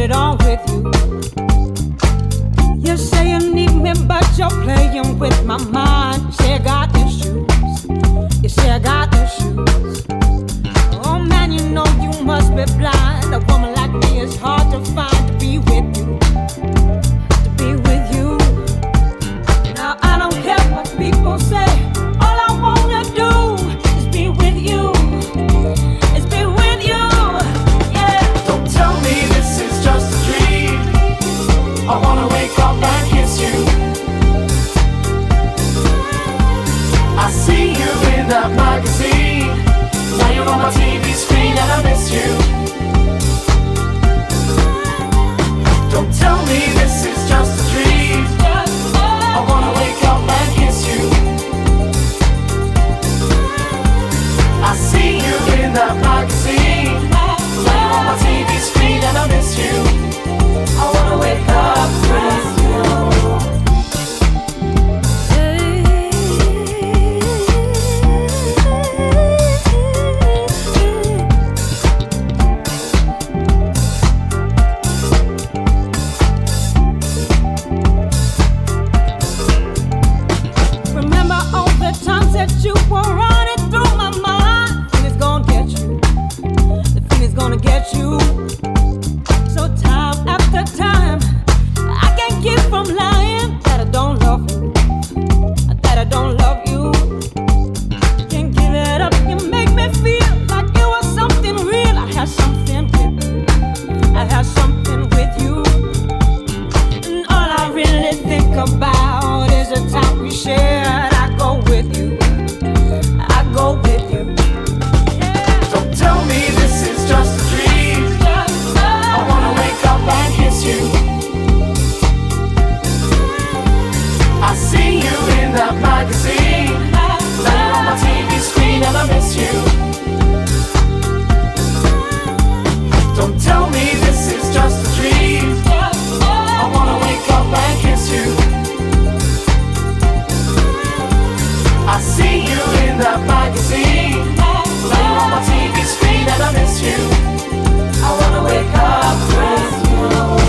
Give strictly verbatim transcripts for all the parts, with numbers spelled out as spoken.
it on with you. You say you need me, but you're playing with my mind. You say I got issues. You say I got issues. Oh man, you know you must be blind. A woman like me is hard to find to be with you. To be with you. Now I don't care what people say. All I wanna do is be with you. Is be with you. Yeah. Don't tell me this is just a dream. I wanna wake up and kiss you. I see you in that magazine. Now you're on my T V screen and I miss you. Don't tell me this is just a dream. I wanna wake up and kiss you. I see you in that magazine. Now you're on my T V screen and I miss you. I wanna wake up with you. Remember all the times that you were running through my mind. The feeling's gonna get you. The feeling's gonna get you. So time after time, I can't keep from lying that I don't love you. That I don't love you. Can't give it up. You make me feel like you are something real. I have something with you. I have something with you. And all I really think about is the time we shared. I go with you. I go with you. Yeah. Don't tell me this is just a dream. I wanna wake up and kiss you. I see you in that magazine. Now you're on my T V screen and I miss you. Don't tell me this is just a dream. I wanna wake up and kiss you. I see you in that magazine. Now you're on my T V screen and I miss you. I wanna wake up with you.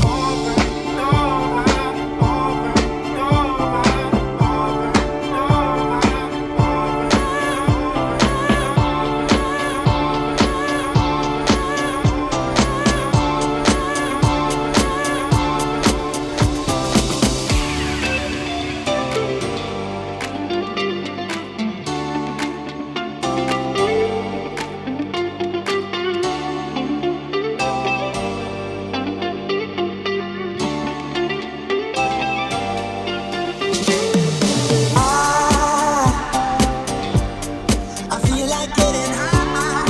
I feel like getting high.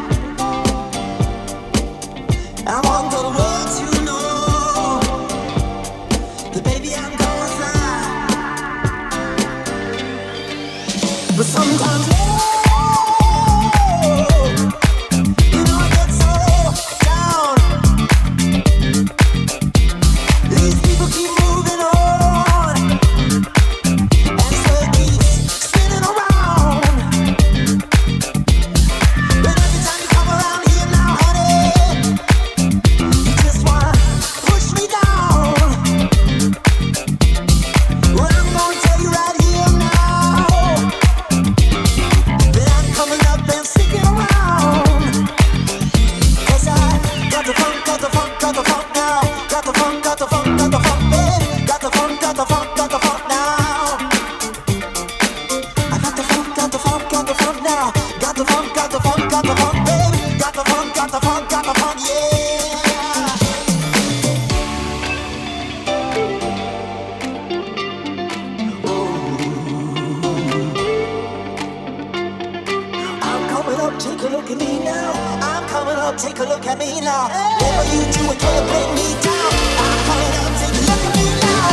I want the world to know that baby I'm gonna fly. But sometimes, oh, you know I get so down. These people keep moving on, and so it keeps spinning around. But every time you come around here now, honey, you just wanna push me down. Well, I'm gonna tell you right here now that I'm coming up and sticking around. 'Cause I got the funk, got the funk, got the funk now. Got the funk, got the funk, got the funk, babe. Got the funk, got the funk, got the funk now. I got the funk, got the funk, got the funk now. Got the funk, got the funk, got the funk, baby. Got the funk, got the funk, got the funk, yeah. I'm coming up, take a look at me now. I'm coming up, take a look at me now. Whatever you do, it can't bring me down. I'm coming up, take a look at me now.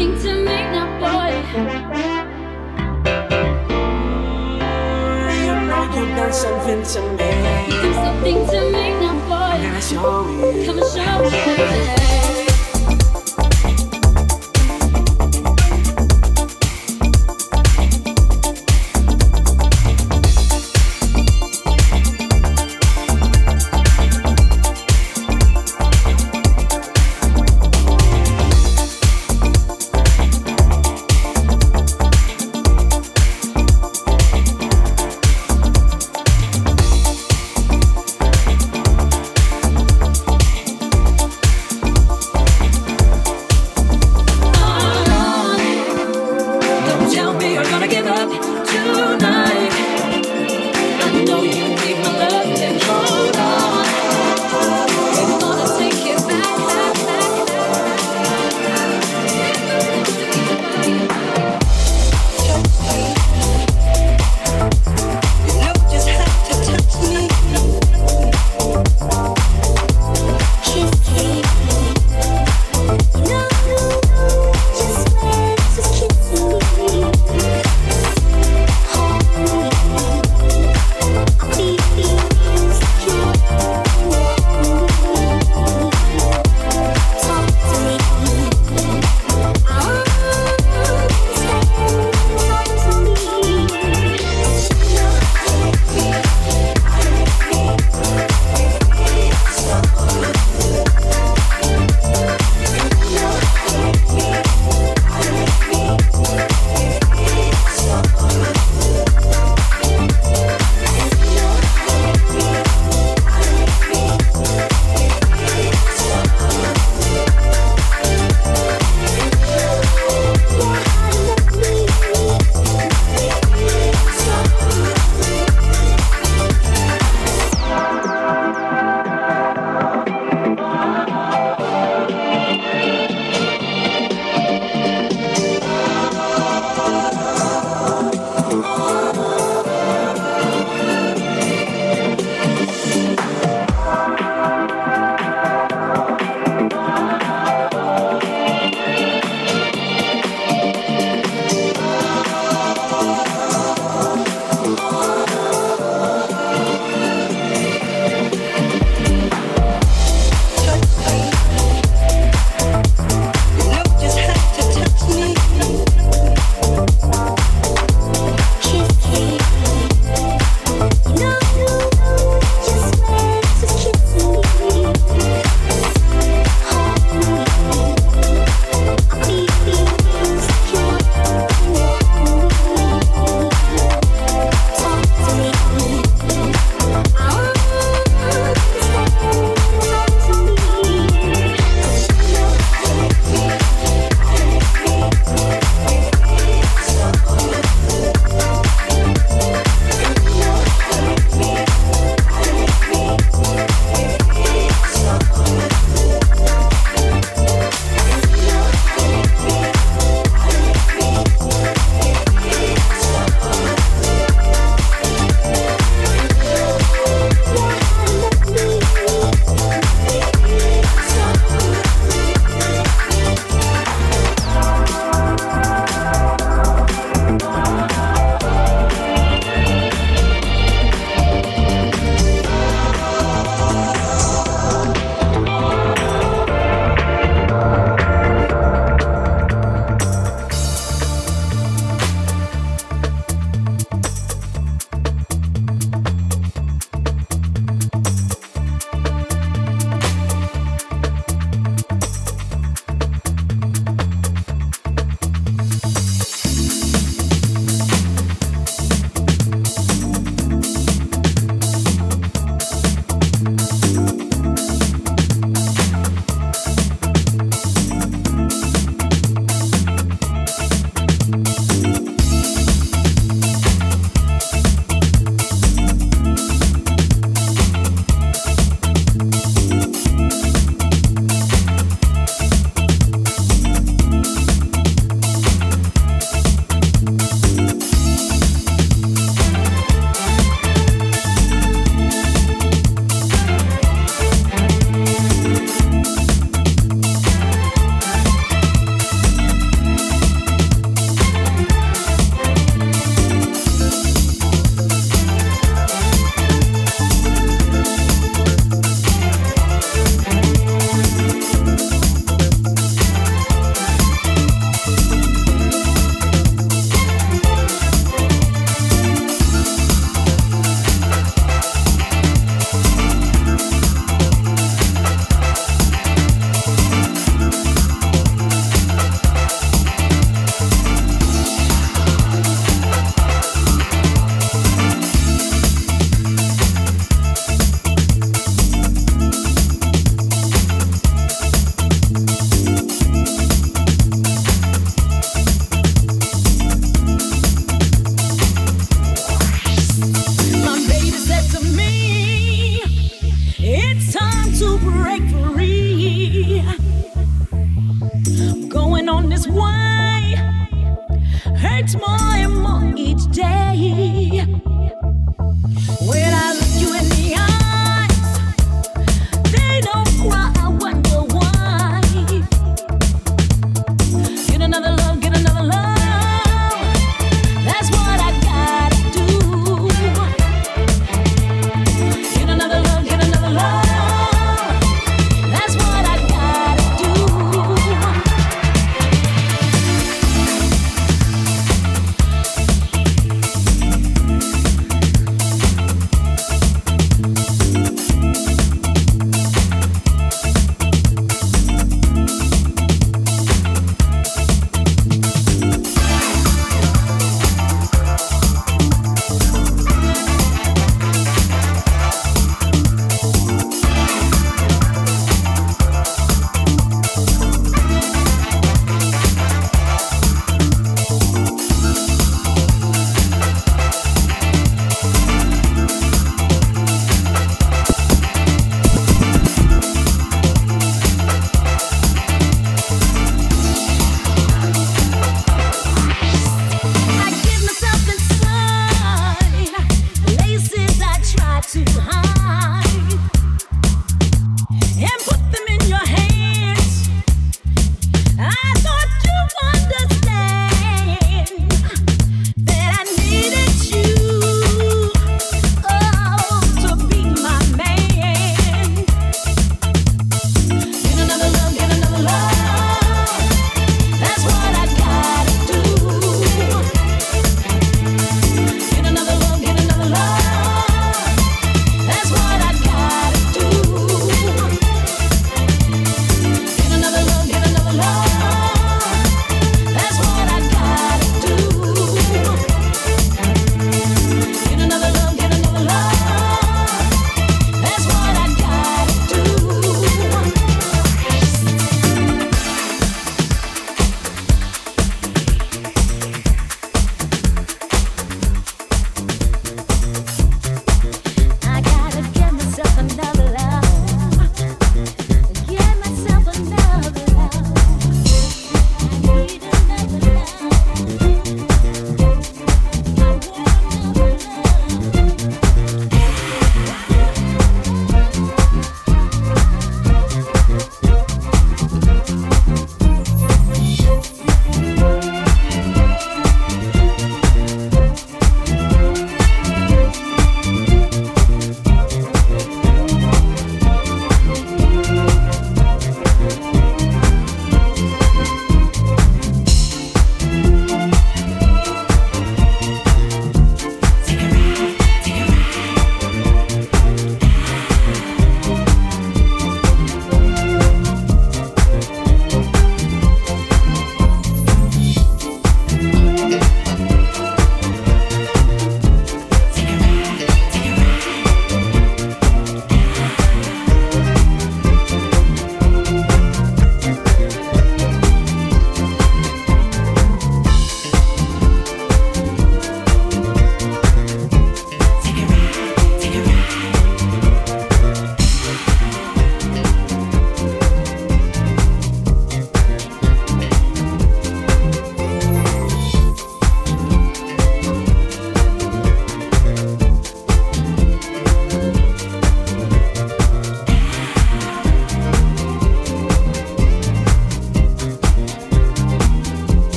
something to me now, boy. You know you've done something to me. You do something to me now, boy. I'm gonna show you. Come and show me, baby. this way hurts more and more each day. When I look you in the eyes, they don't cry, I wonder why. Get another love, get another love, that's what I gotta do. Get another love, get another love.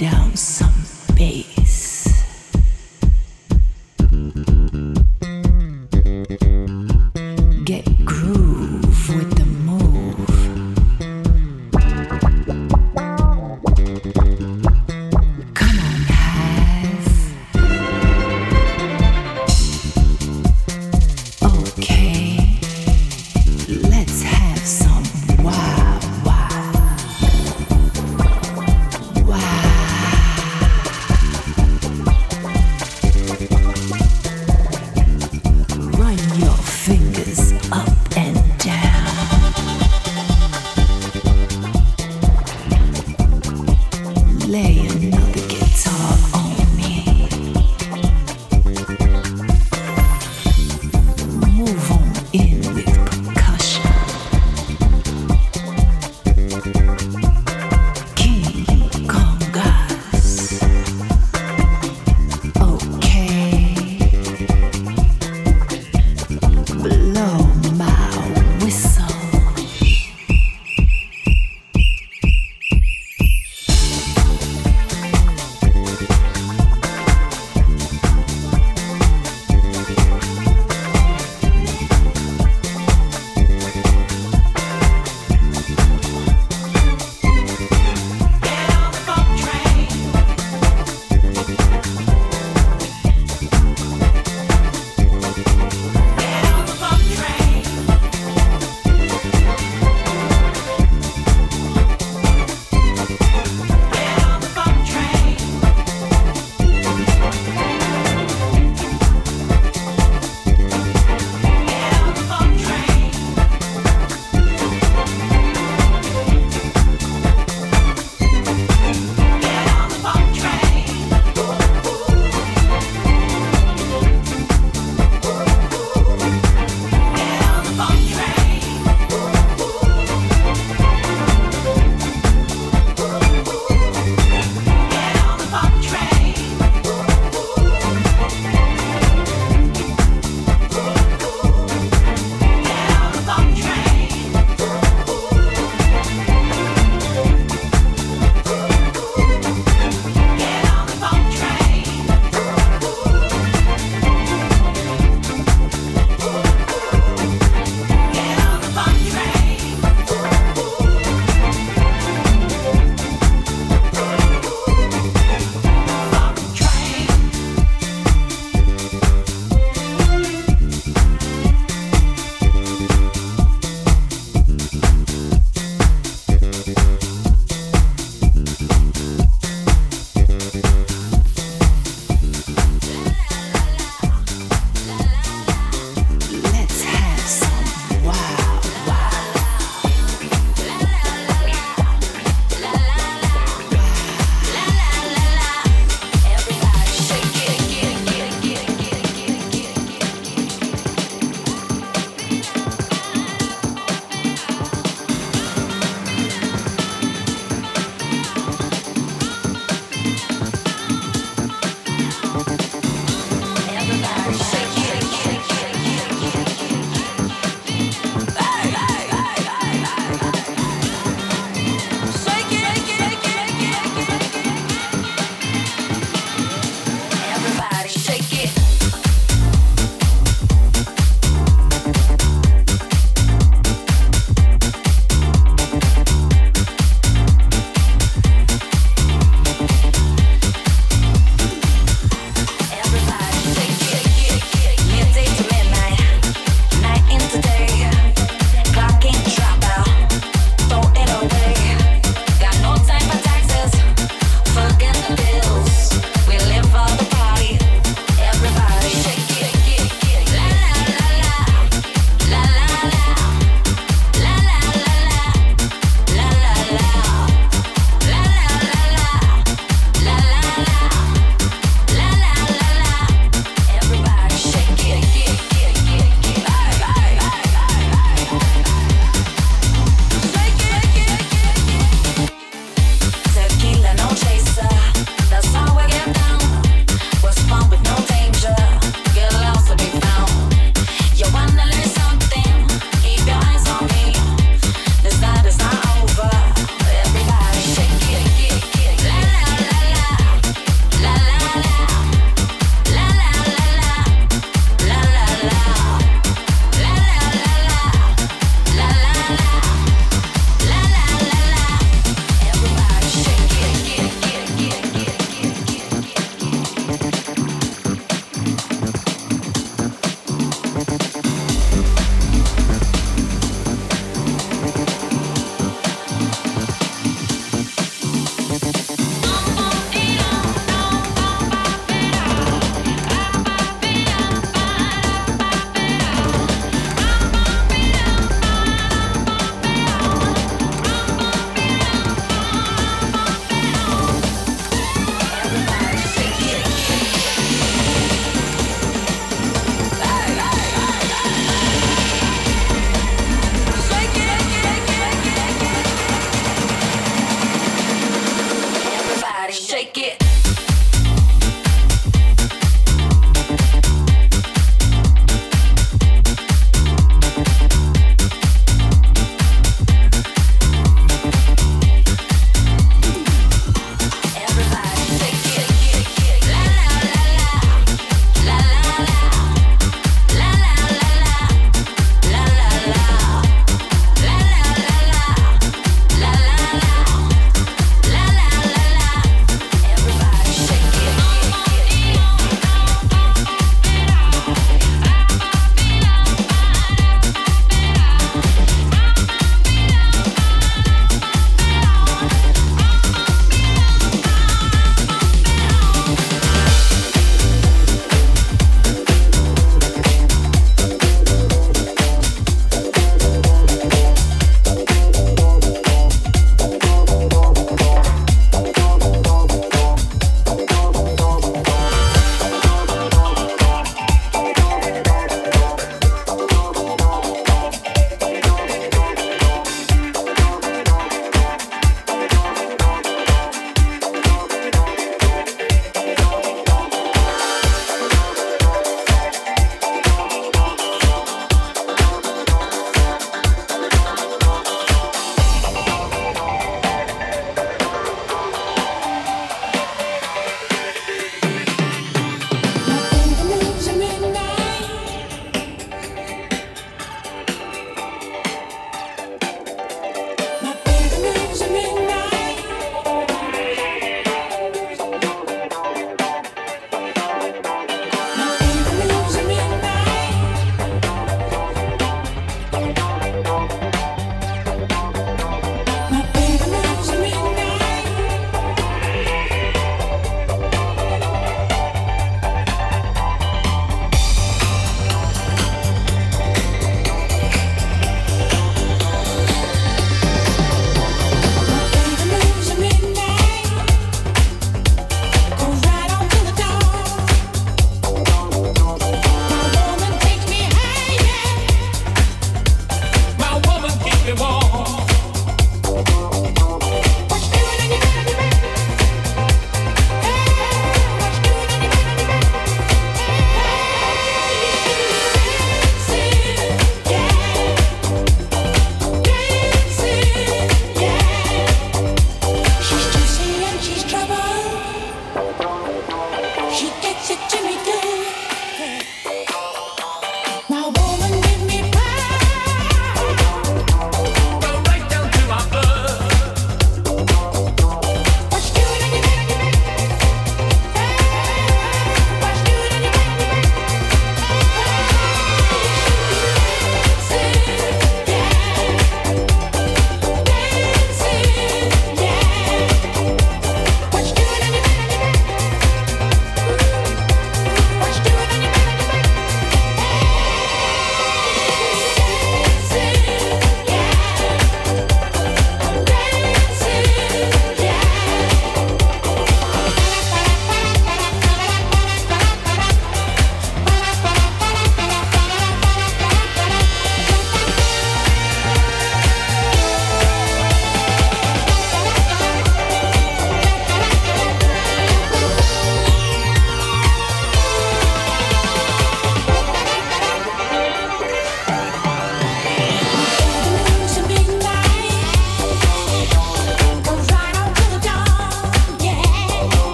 down some bass. Get groove with the move. Come on, Hive. Okay, let's have some wow, wow, wow.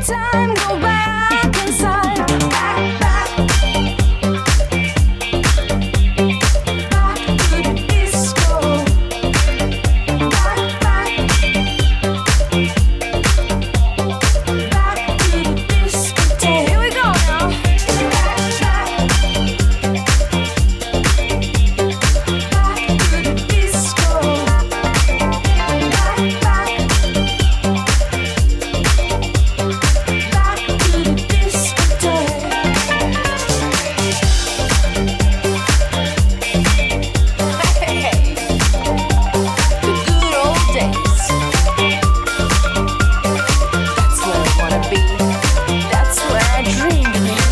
time, go back inside. Back, back. Back to the disco. Back, back. Back to the discotheque. Here we go now. Back, back. Back to the disco. Back, back. Back to the discotheque. Hey, the good old days. That's where I wanna be. That's where I dream to be.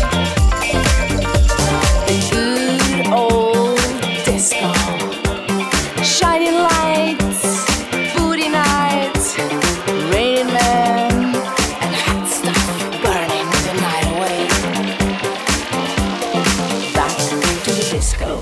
The good old disco. Shining lights, booty nights, raining men, and hot stuff burning the night away. Back to the disco.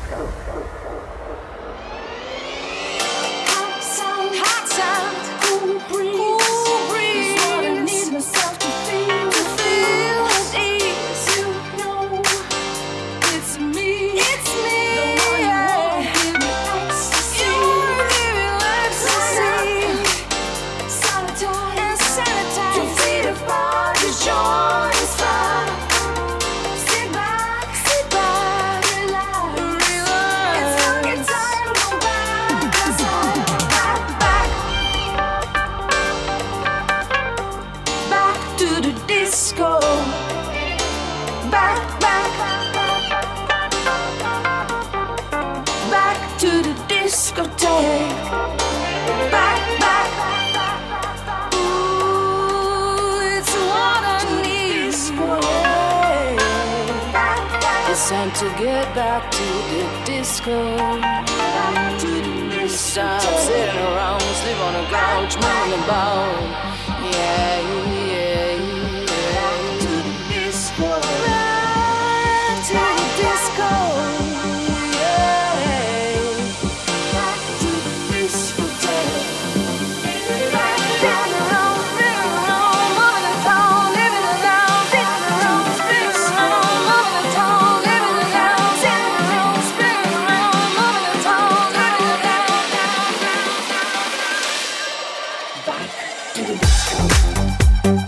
Hot sound, hot sound, cool breeze, cool breeze. Is what I need myself to feel, to feel at ease. You know, it's me, it's me. The one who won't give me ecstasy. You wanna give me ecstasy. Sanitize and sanitize. Your feet apart, your joy is fine. Sit back, sit back, relax, relax. It's fucking time, go back inside. Back, back. Back to the disco. Back, back. Back to the discotheque. Back, back. Ooh, it's what I need. It's time to get back to the disco. Back to the disco. Stop sitting around, sleep on the couch, moving about. Yeah, yeah, yeah. Back to the disco. Back to the disco. Yeah. Back to the discotheque. Back, back around, spin around, moving the town, living it down. Spin around, spin around, moving the town, living it down. Spin around, spin around, moving the town, living it down. Back to the disco.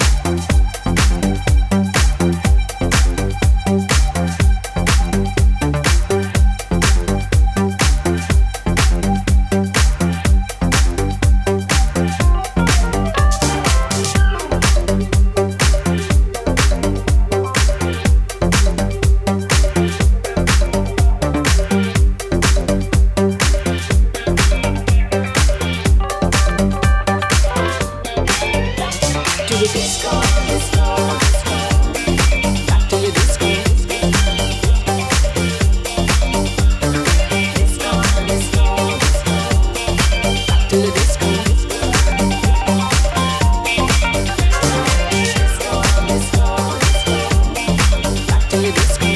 To the disco, disco, disco. Back to the disco. Disco, disco, disco. Back to the disco. Disco, disco, disco. Back to the disco.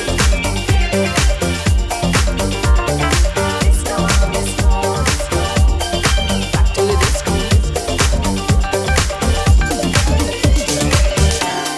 Disco, disco, disco. Back to the disco.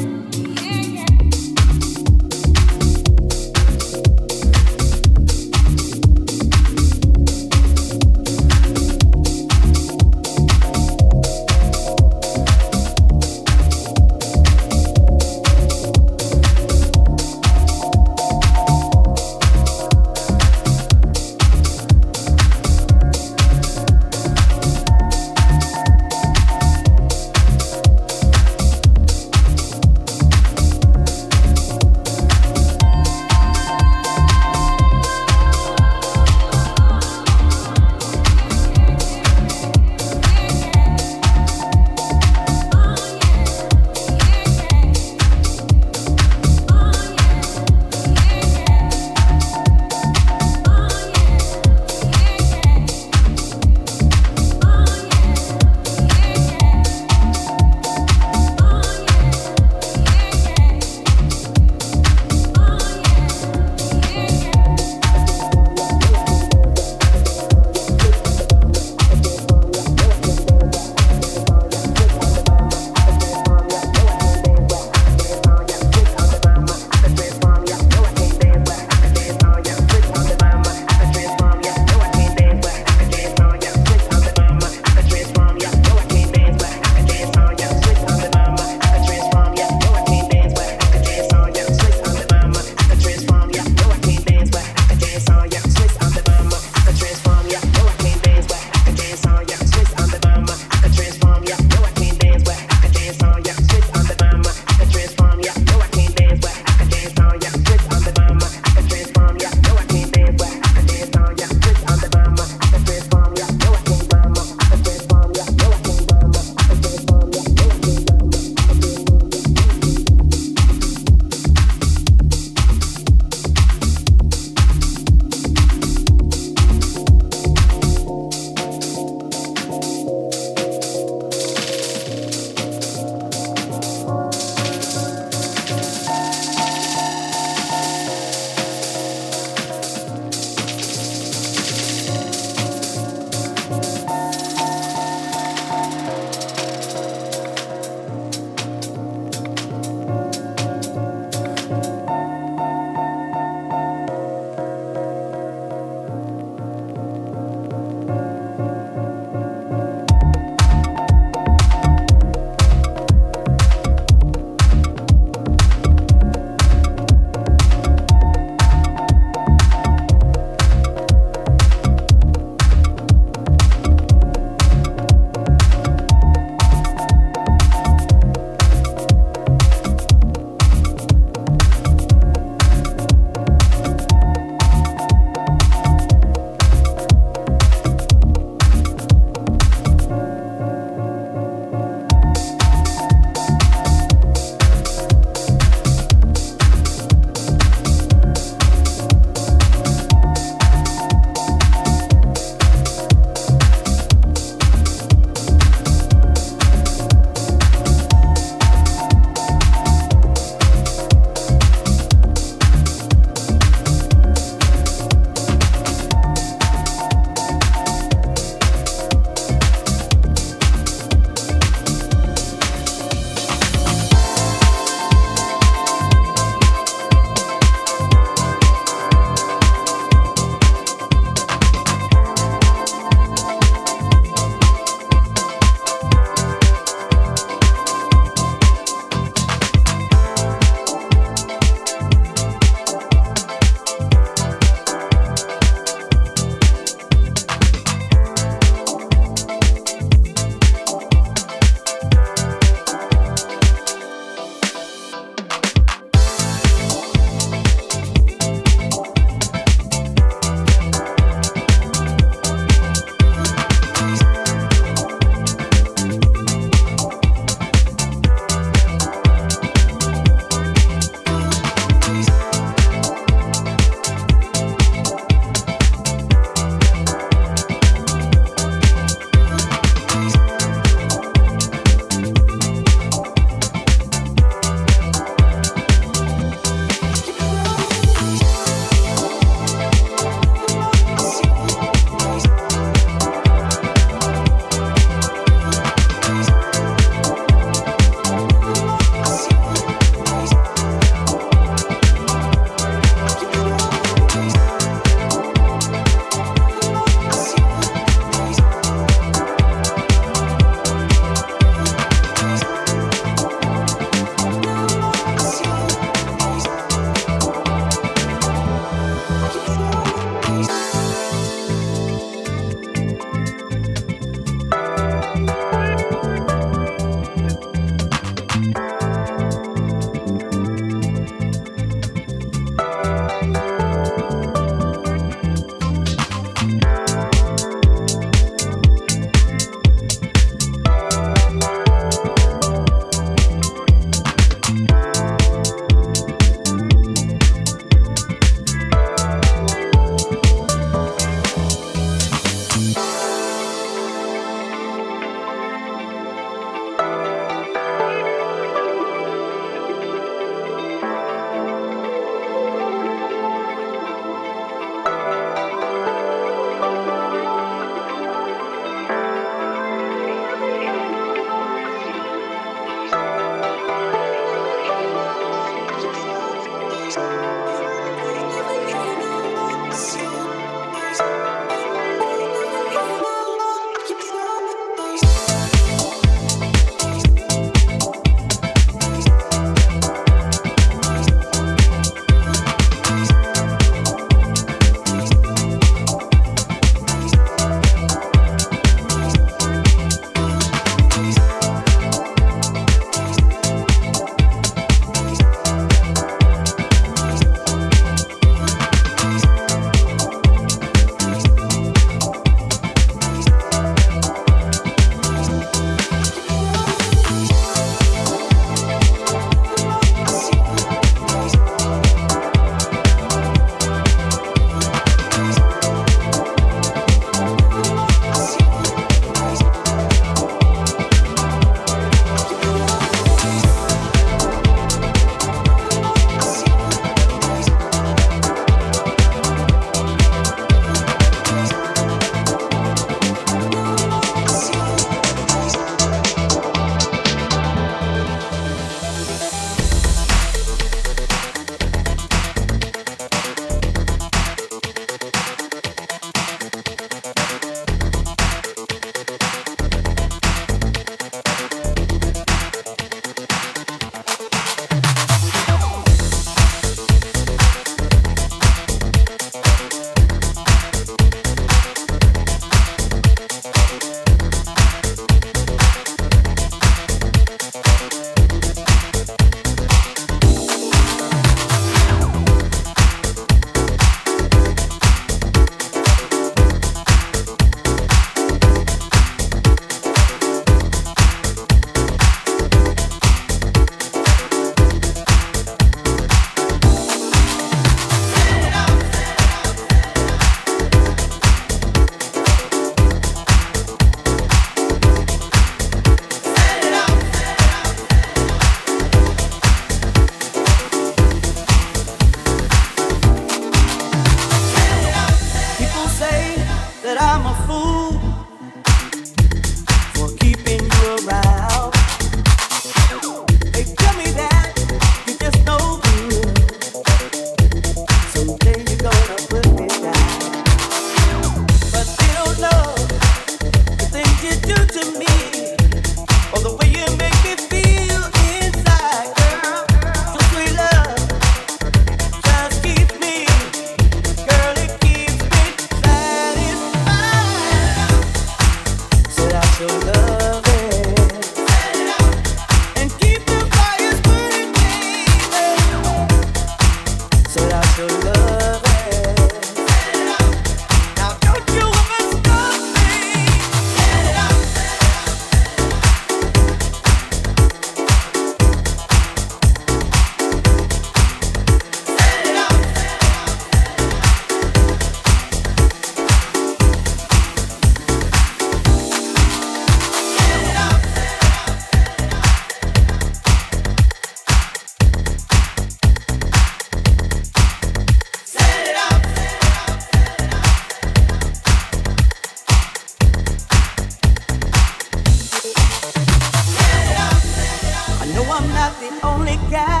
No, I'm not the only guy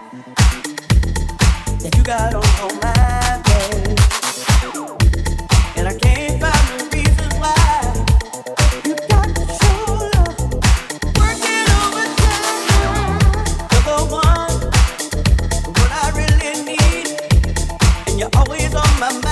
that you got on your mind, babe. And I can't find the reasons why you got to show love, working overtime. You're the one, what I really need, and you're always on my mind.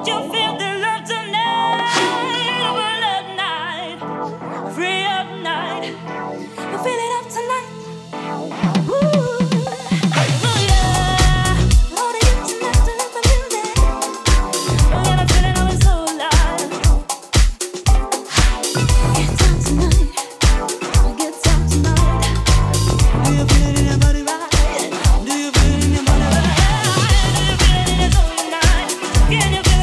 Can you feel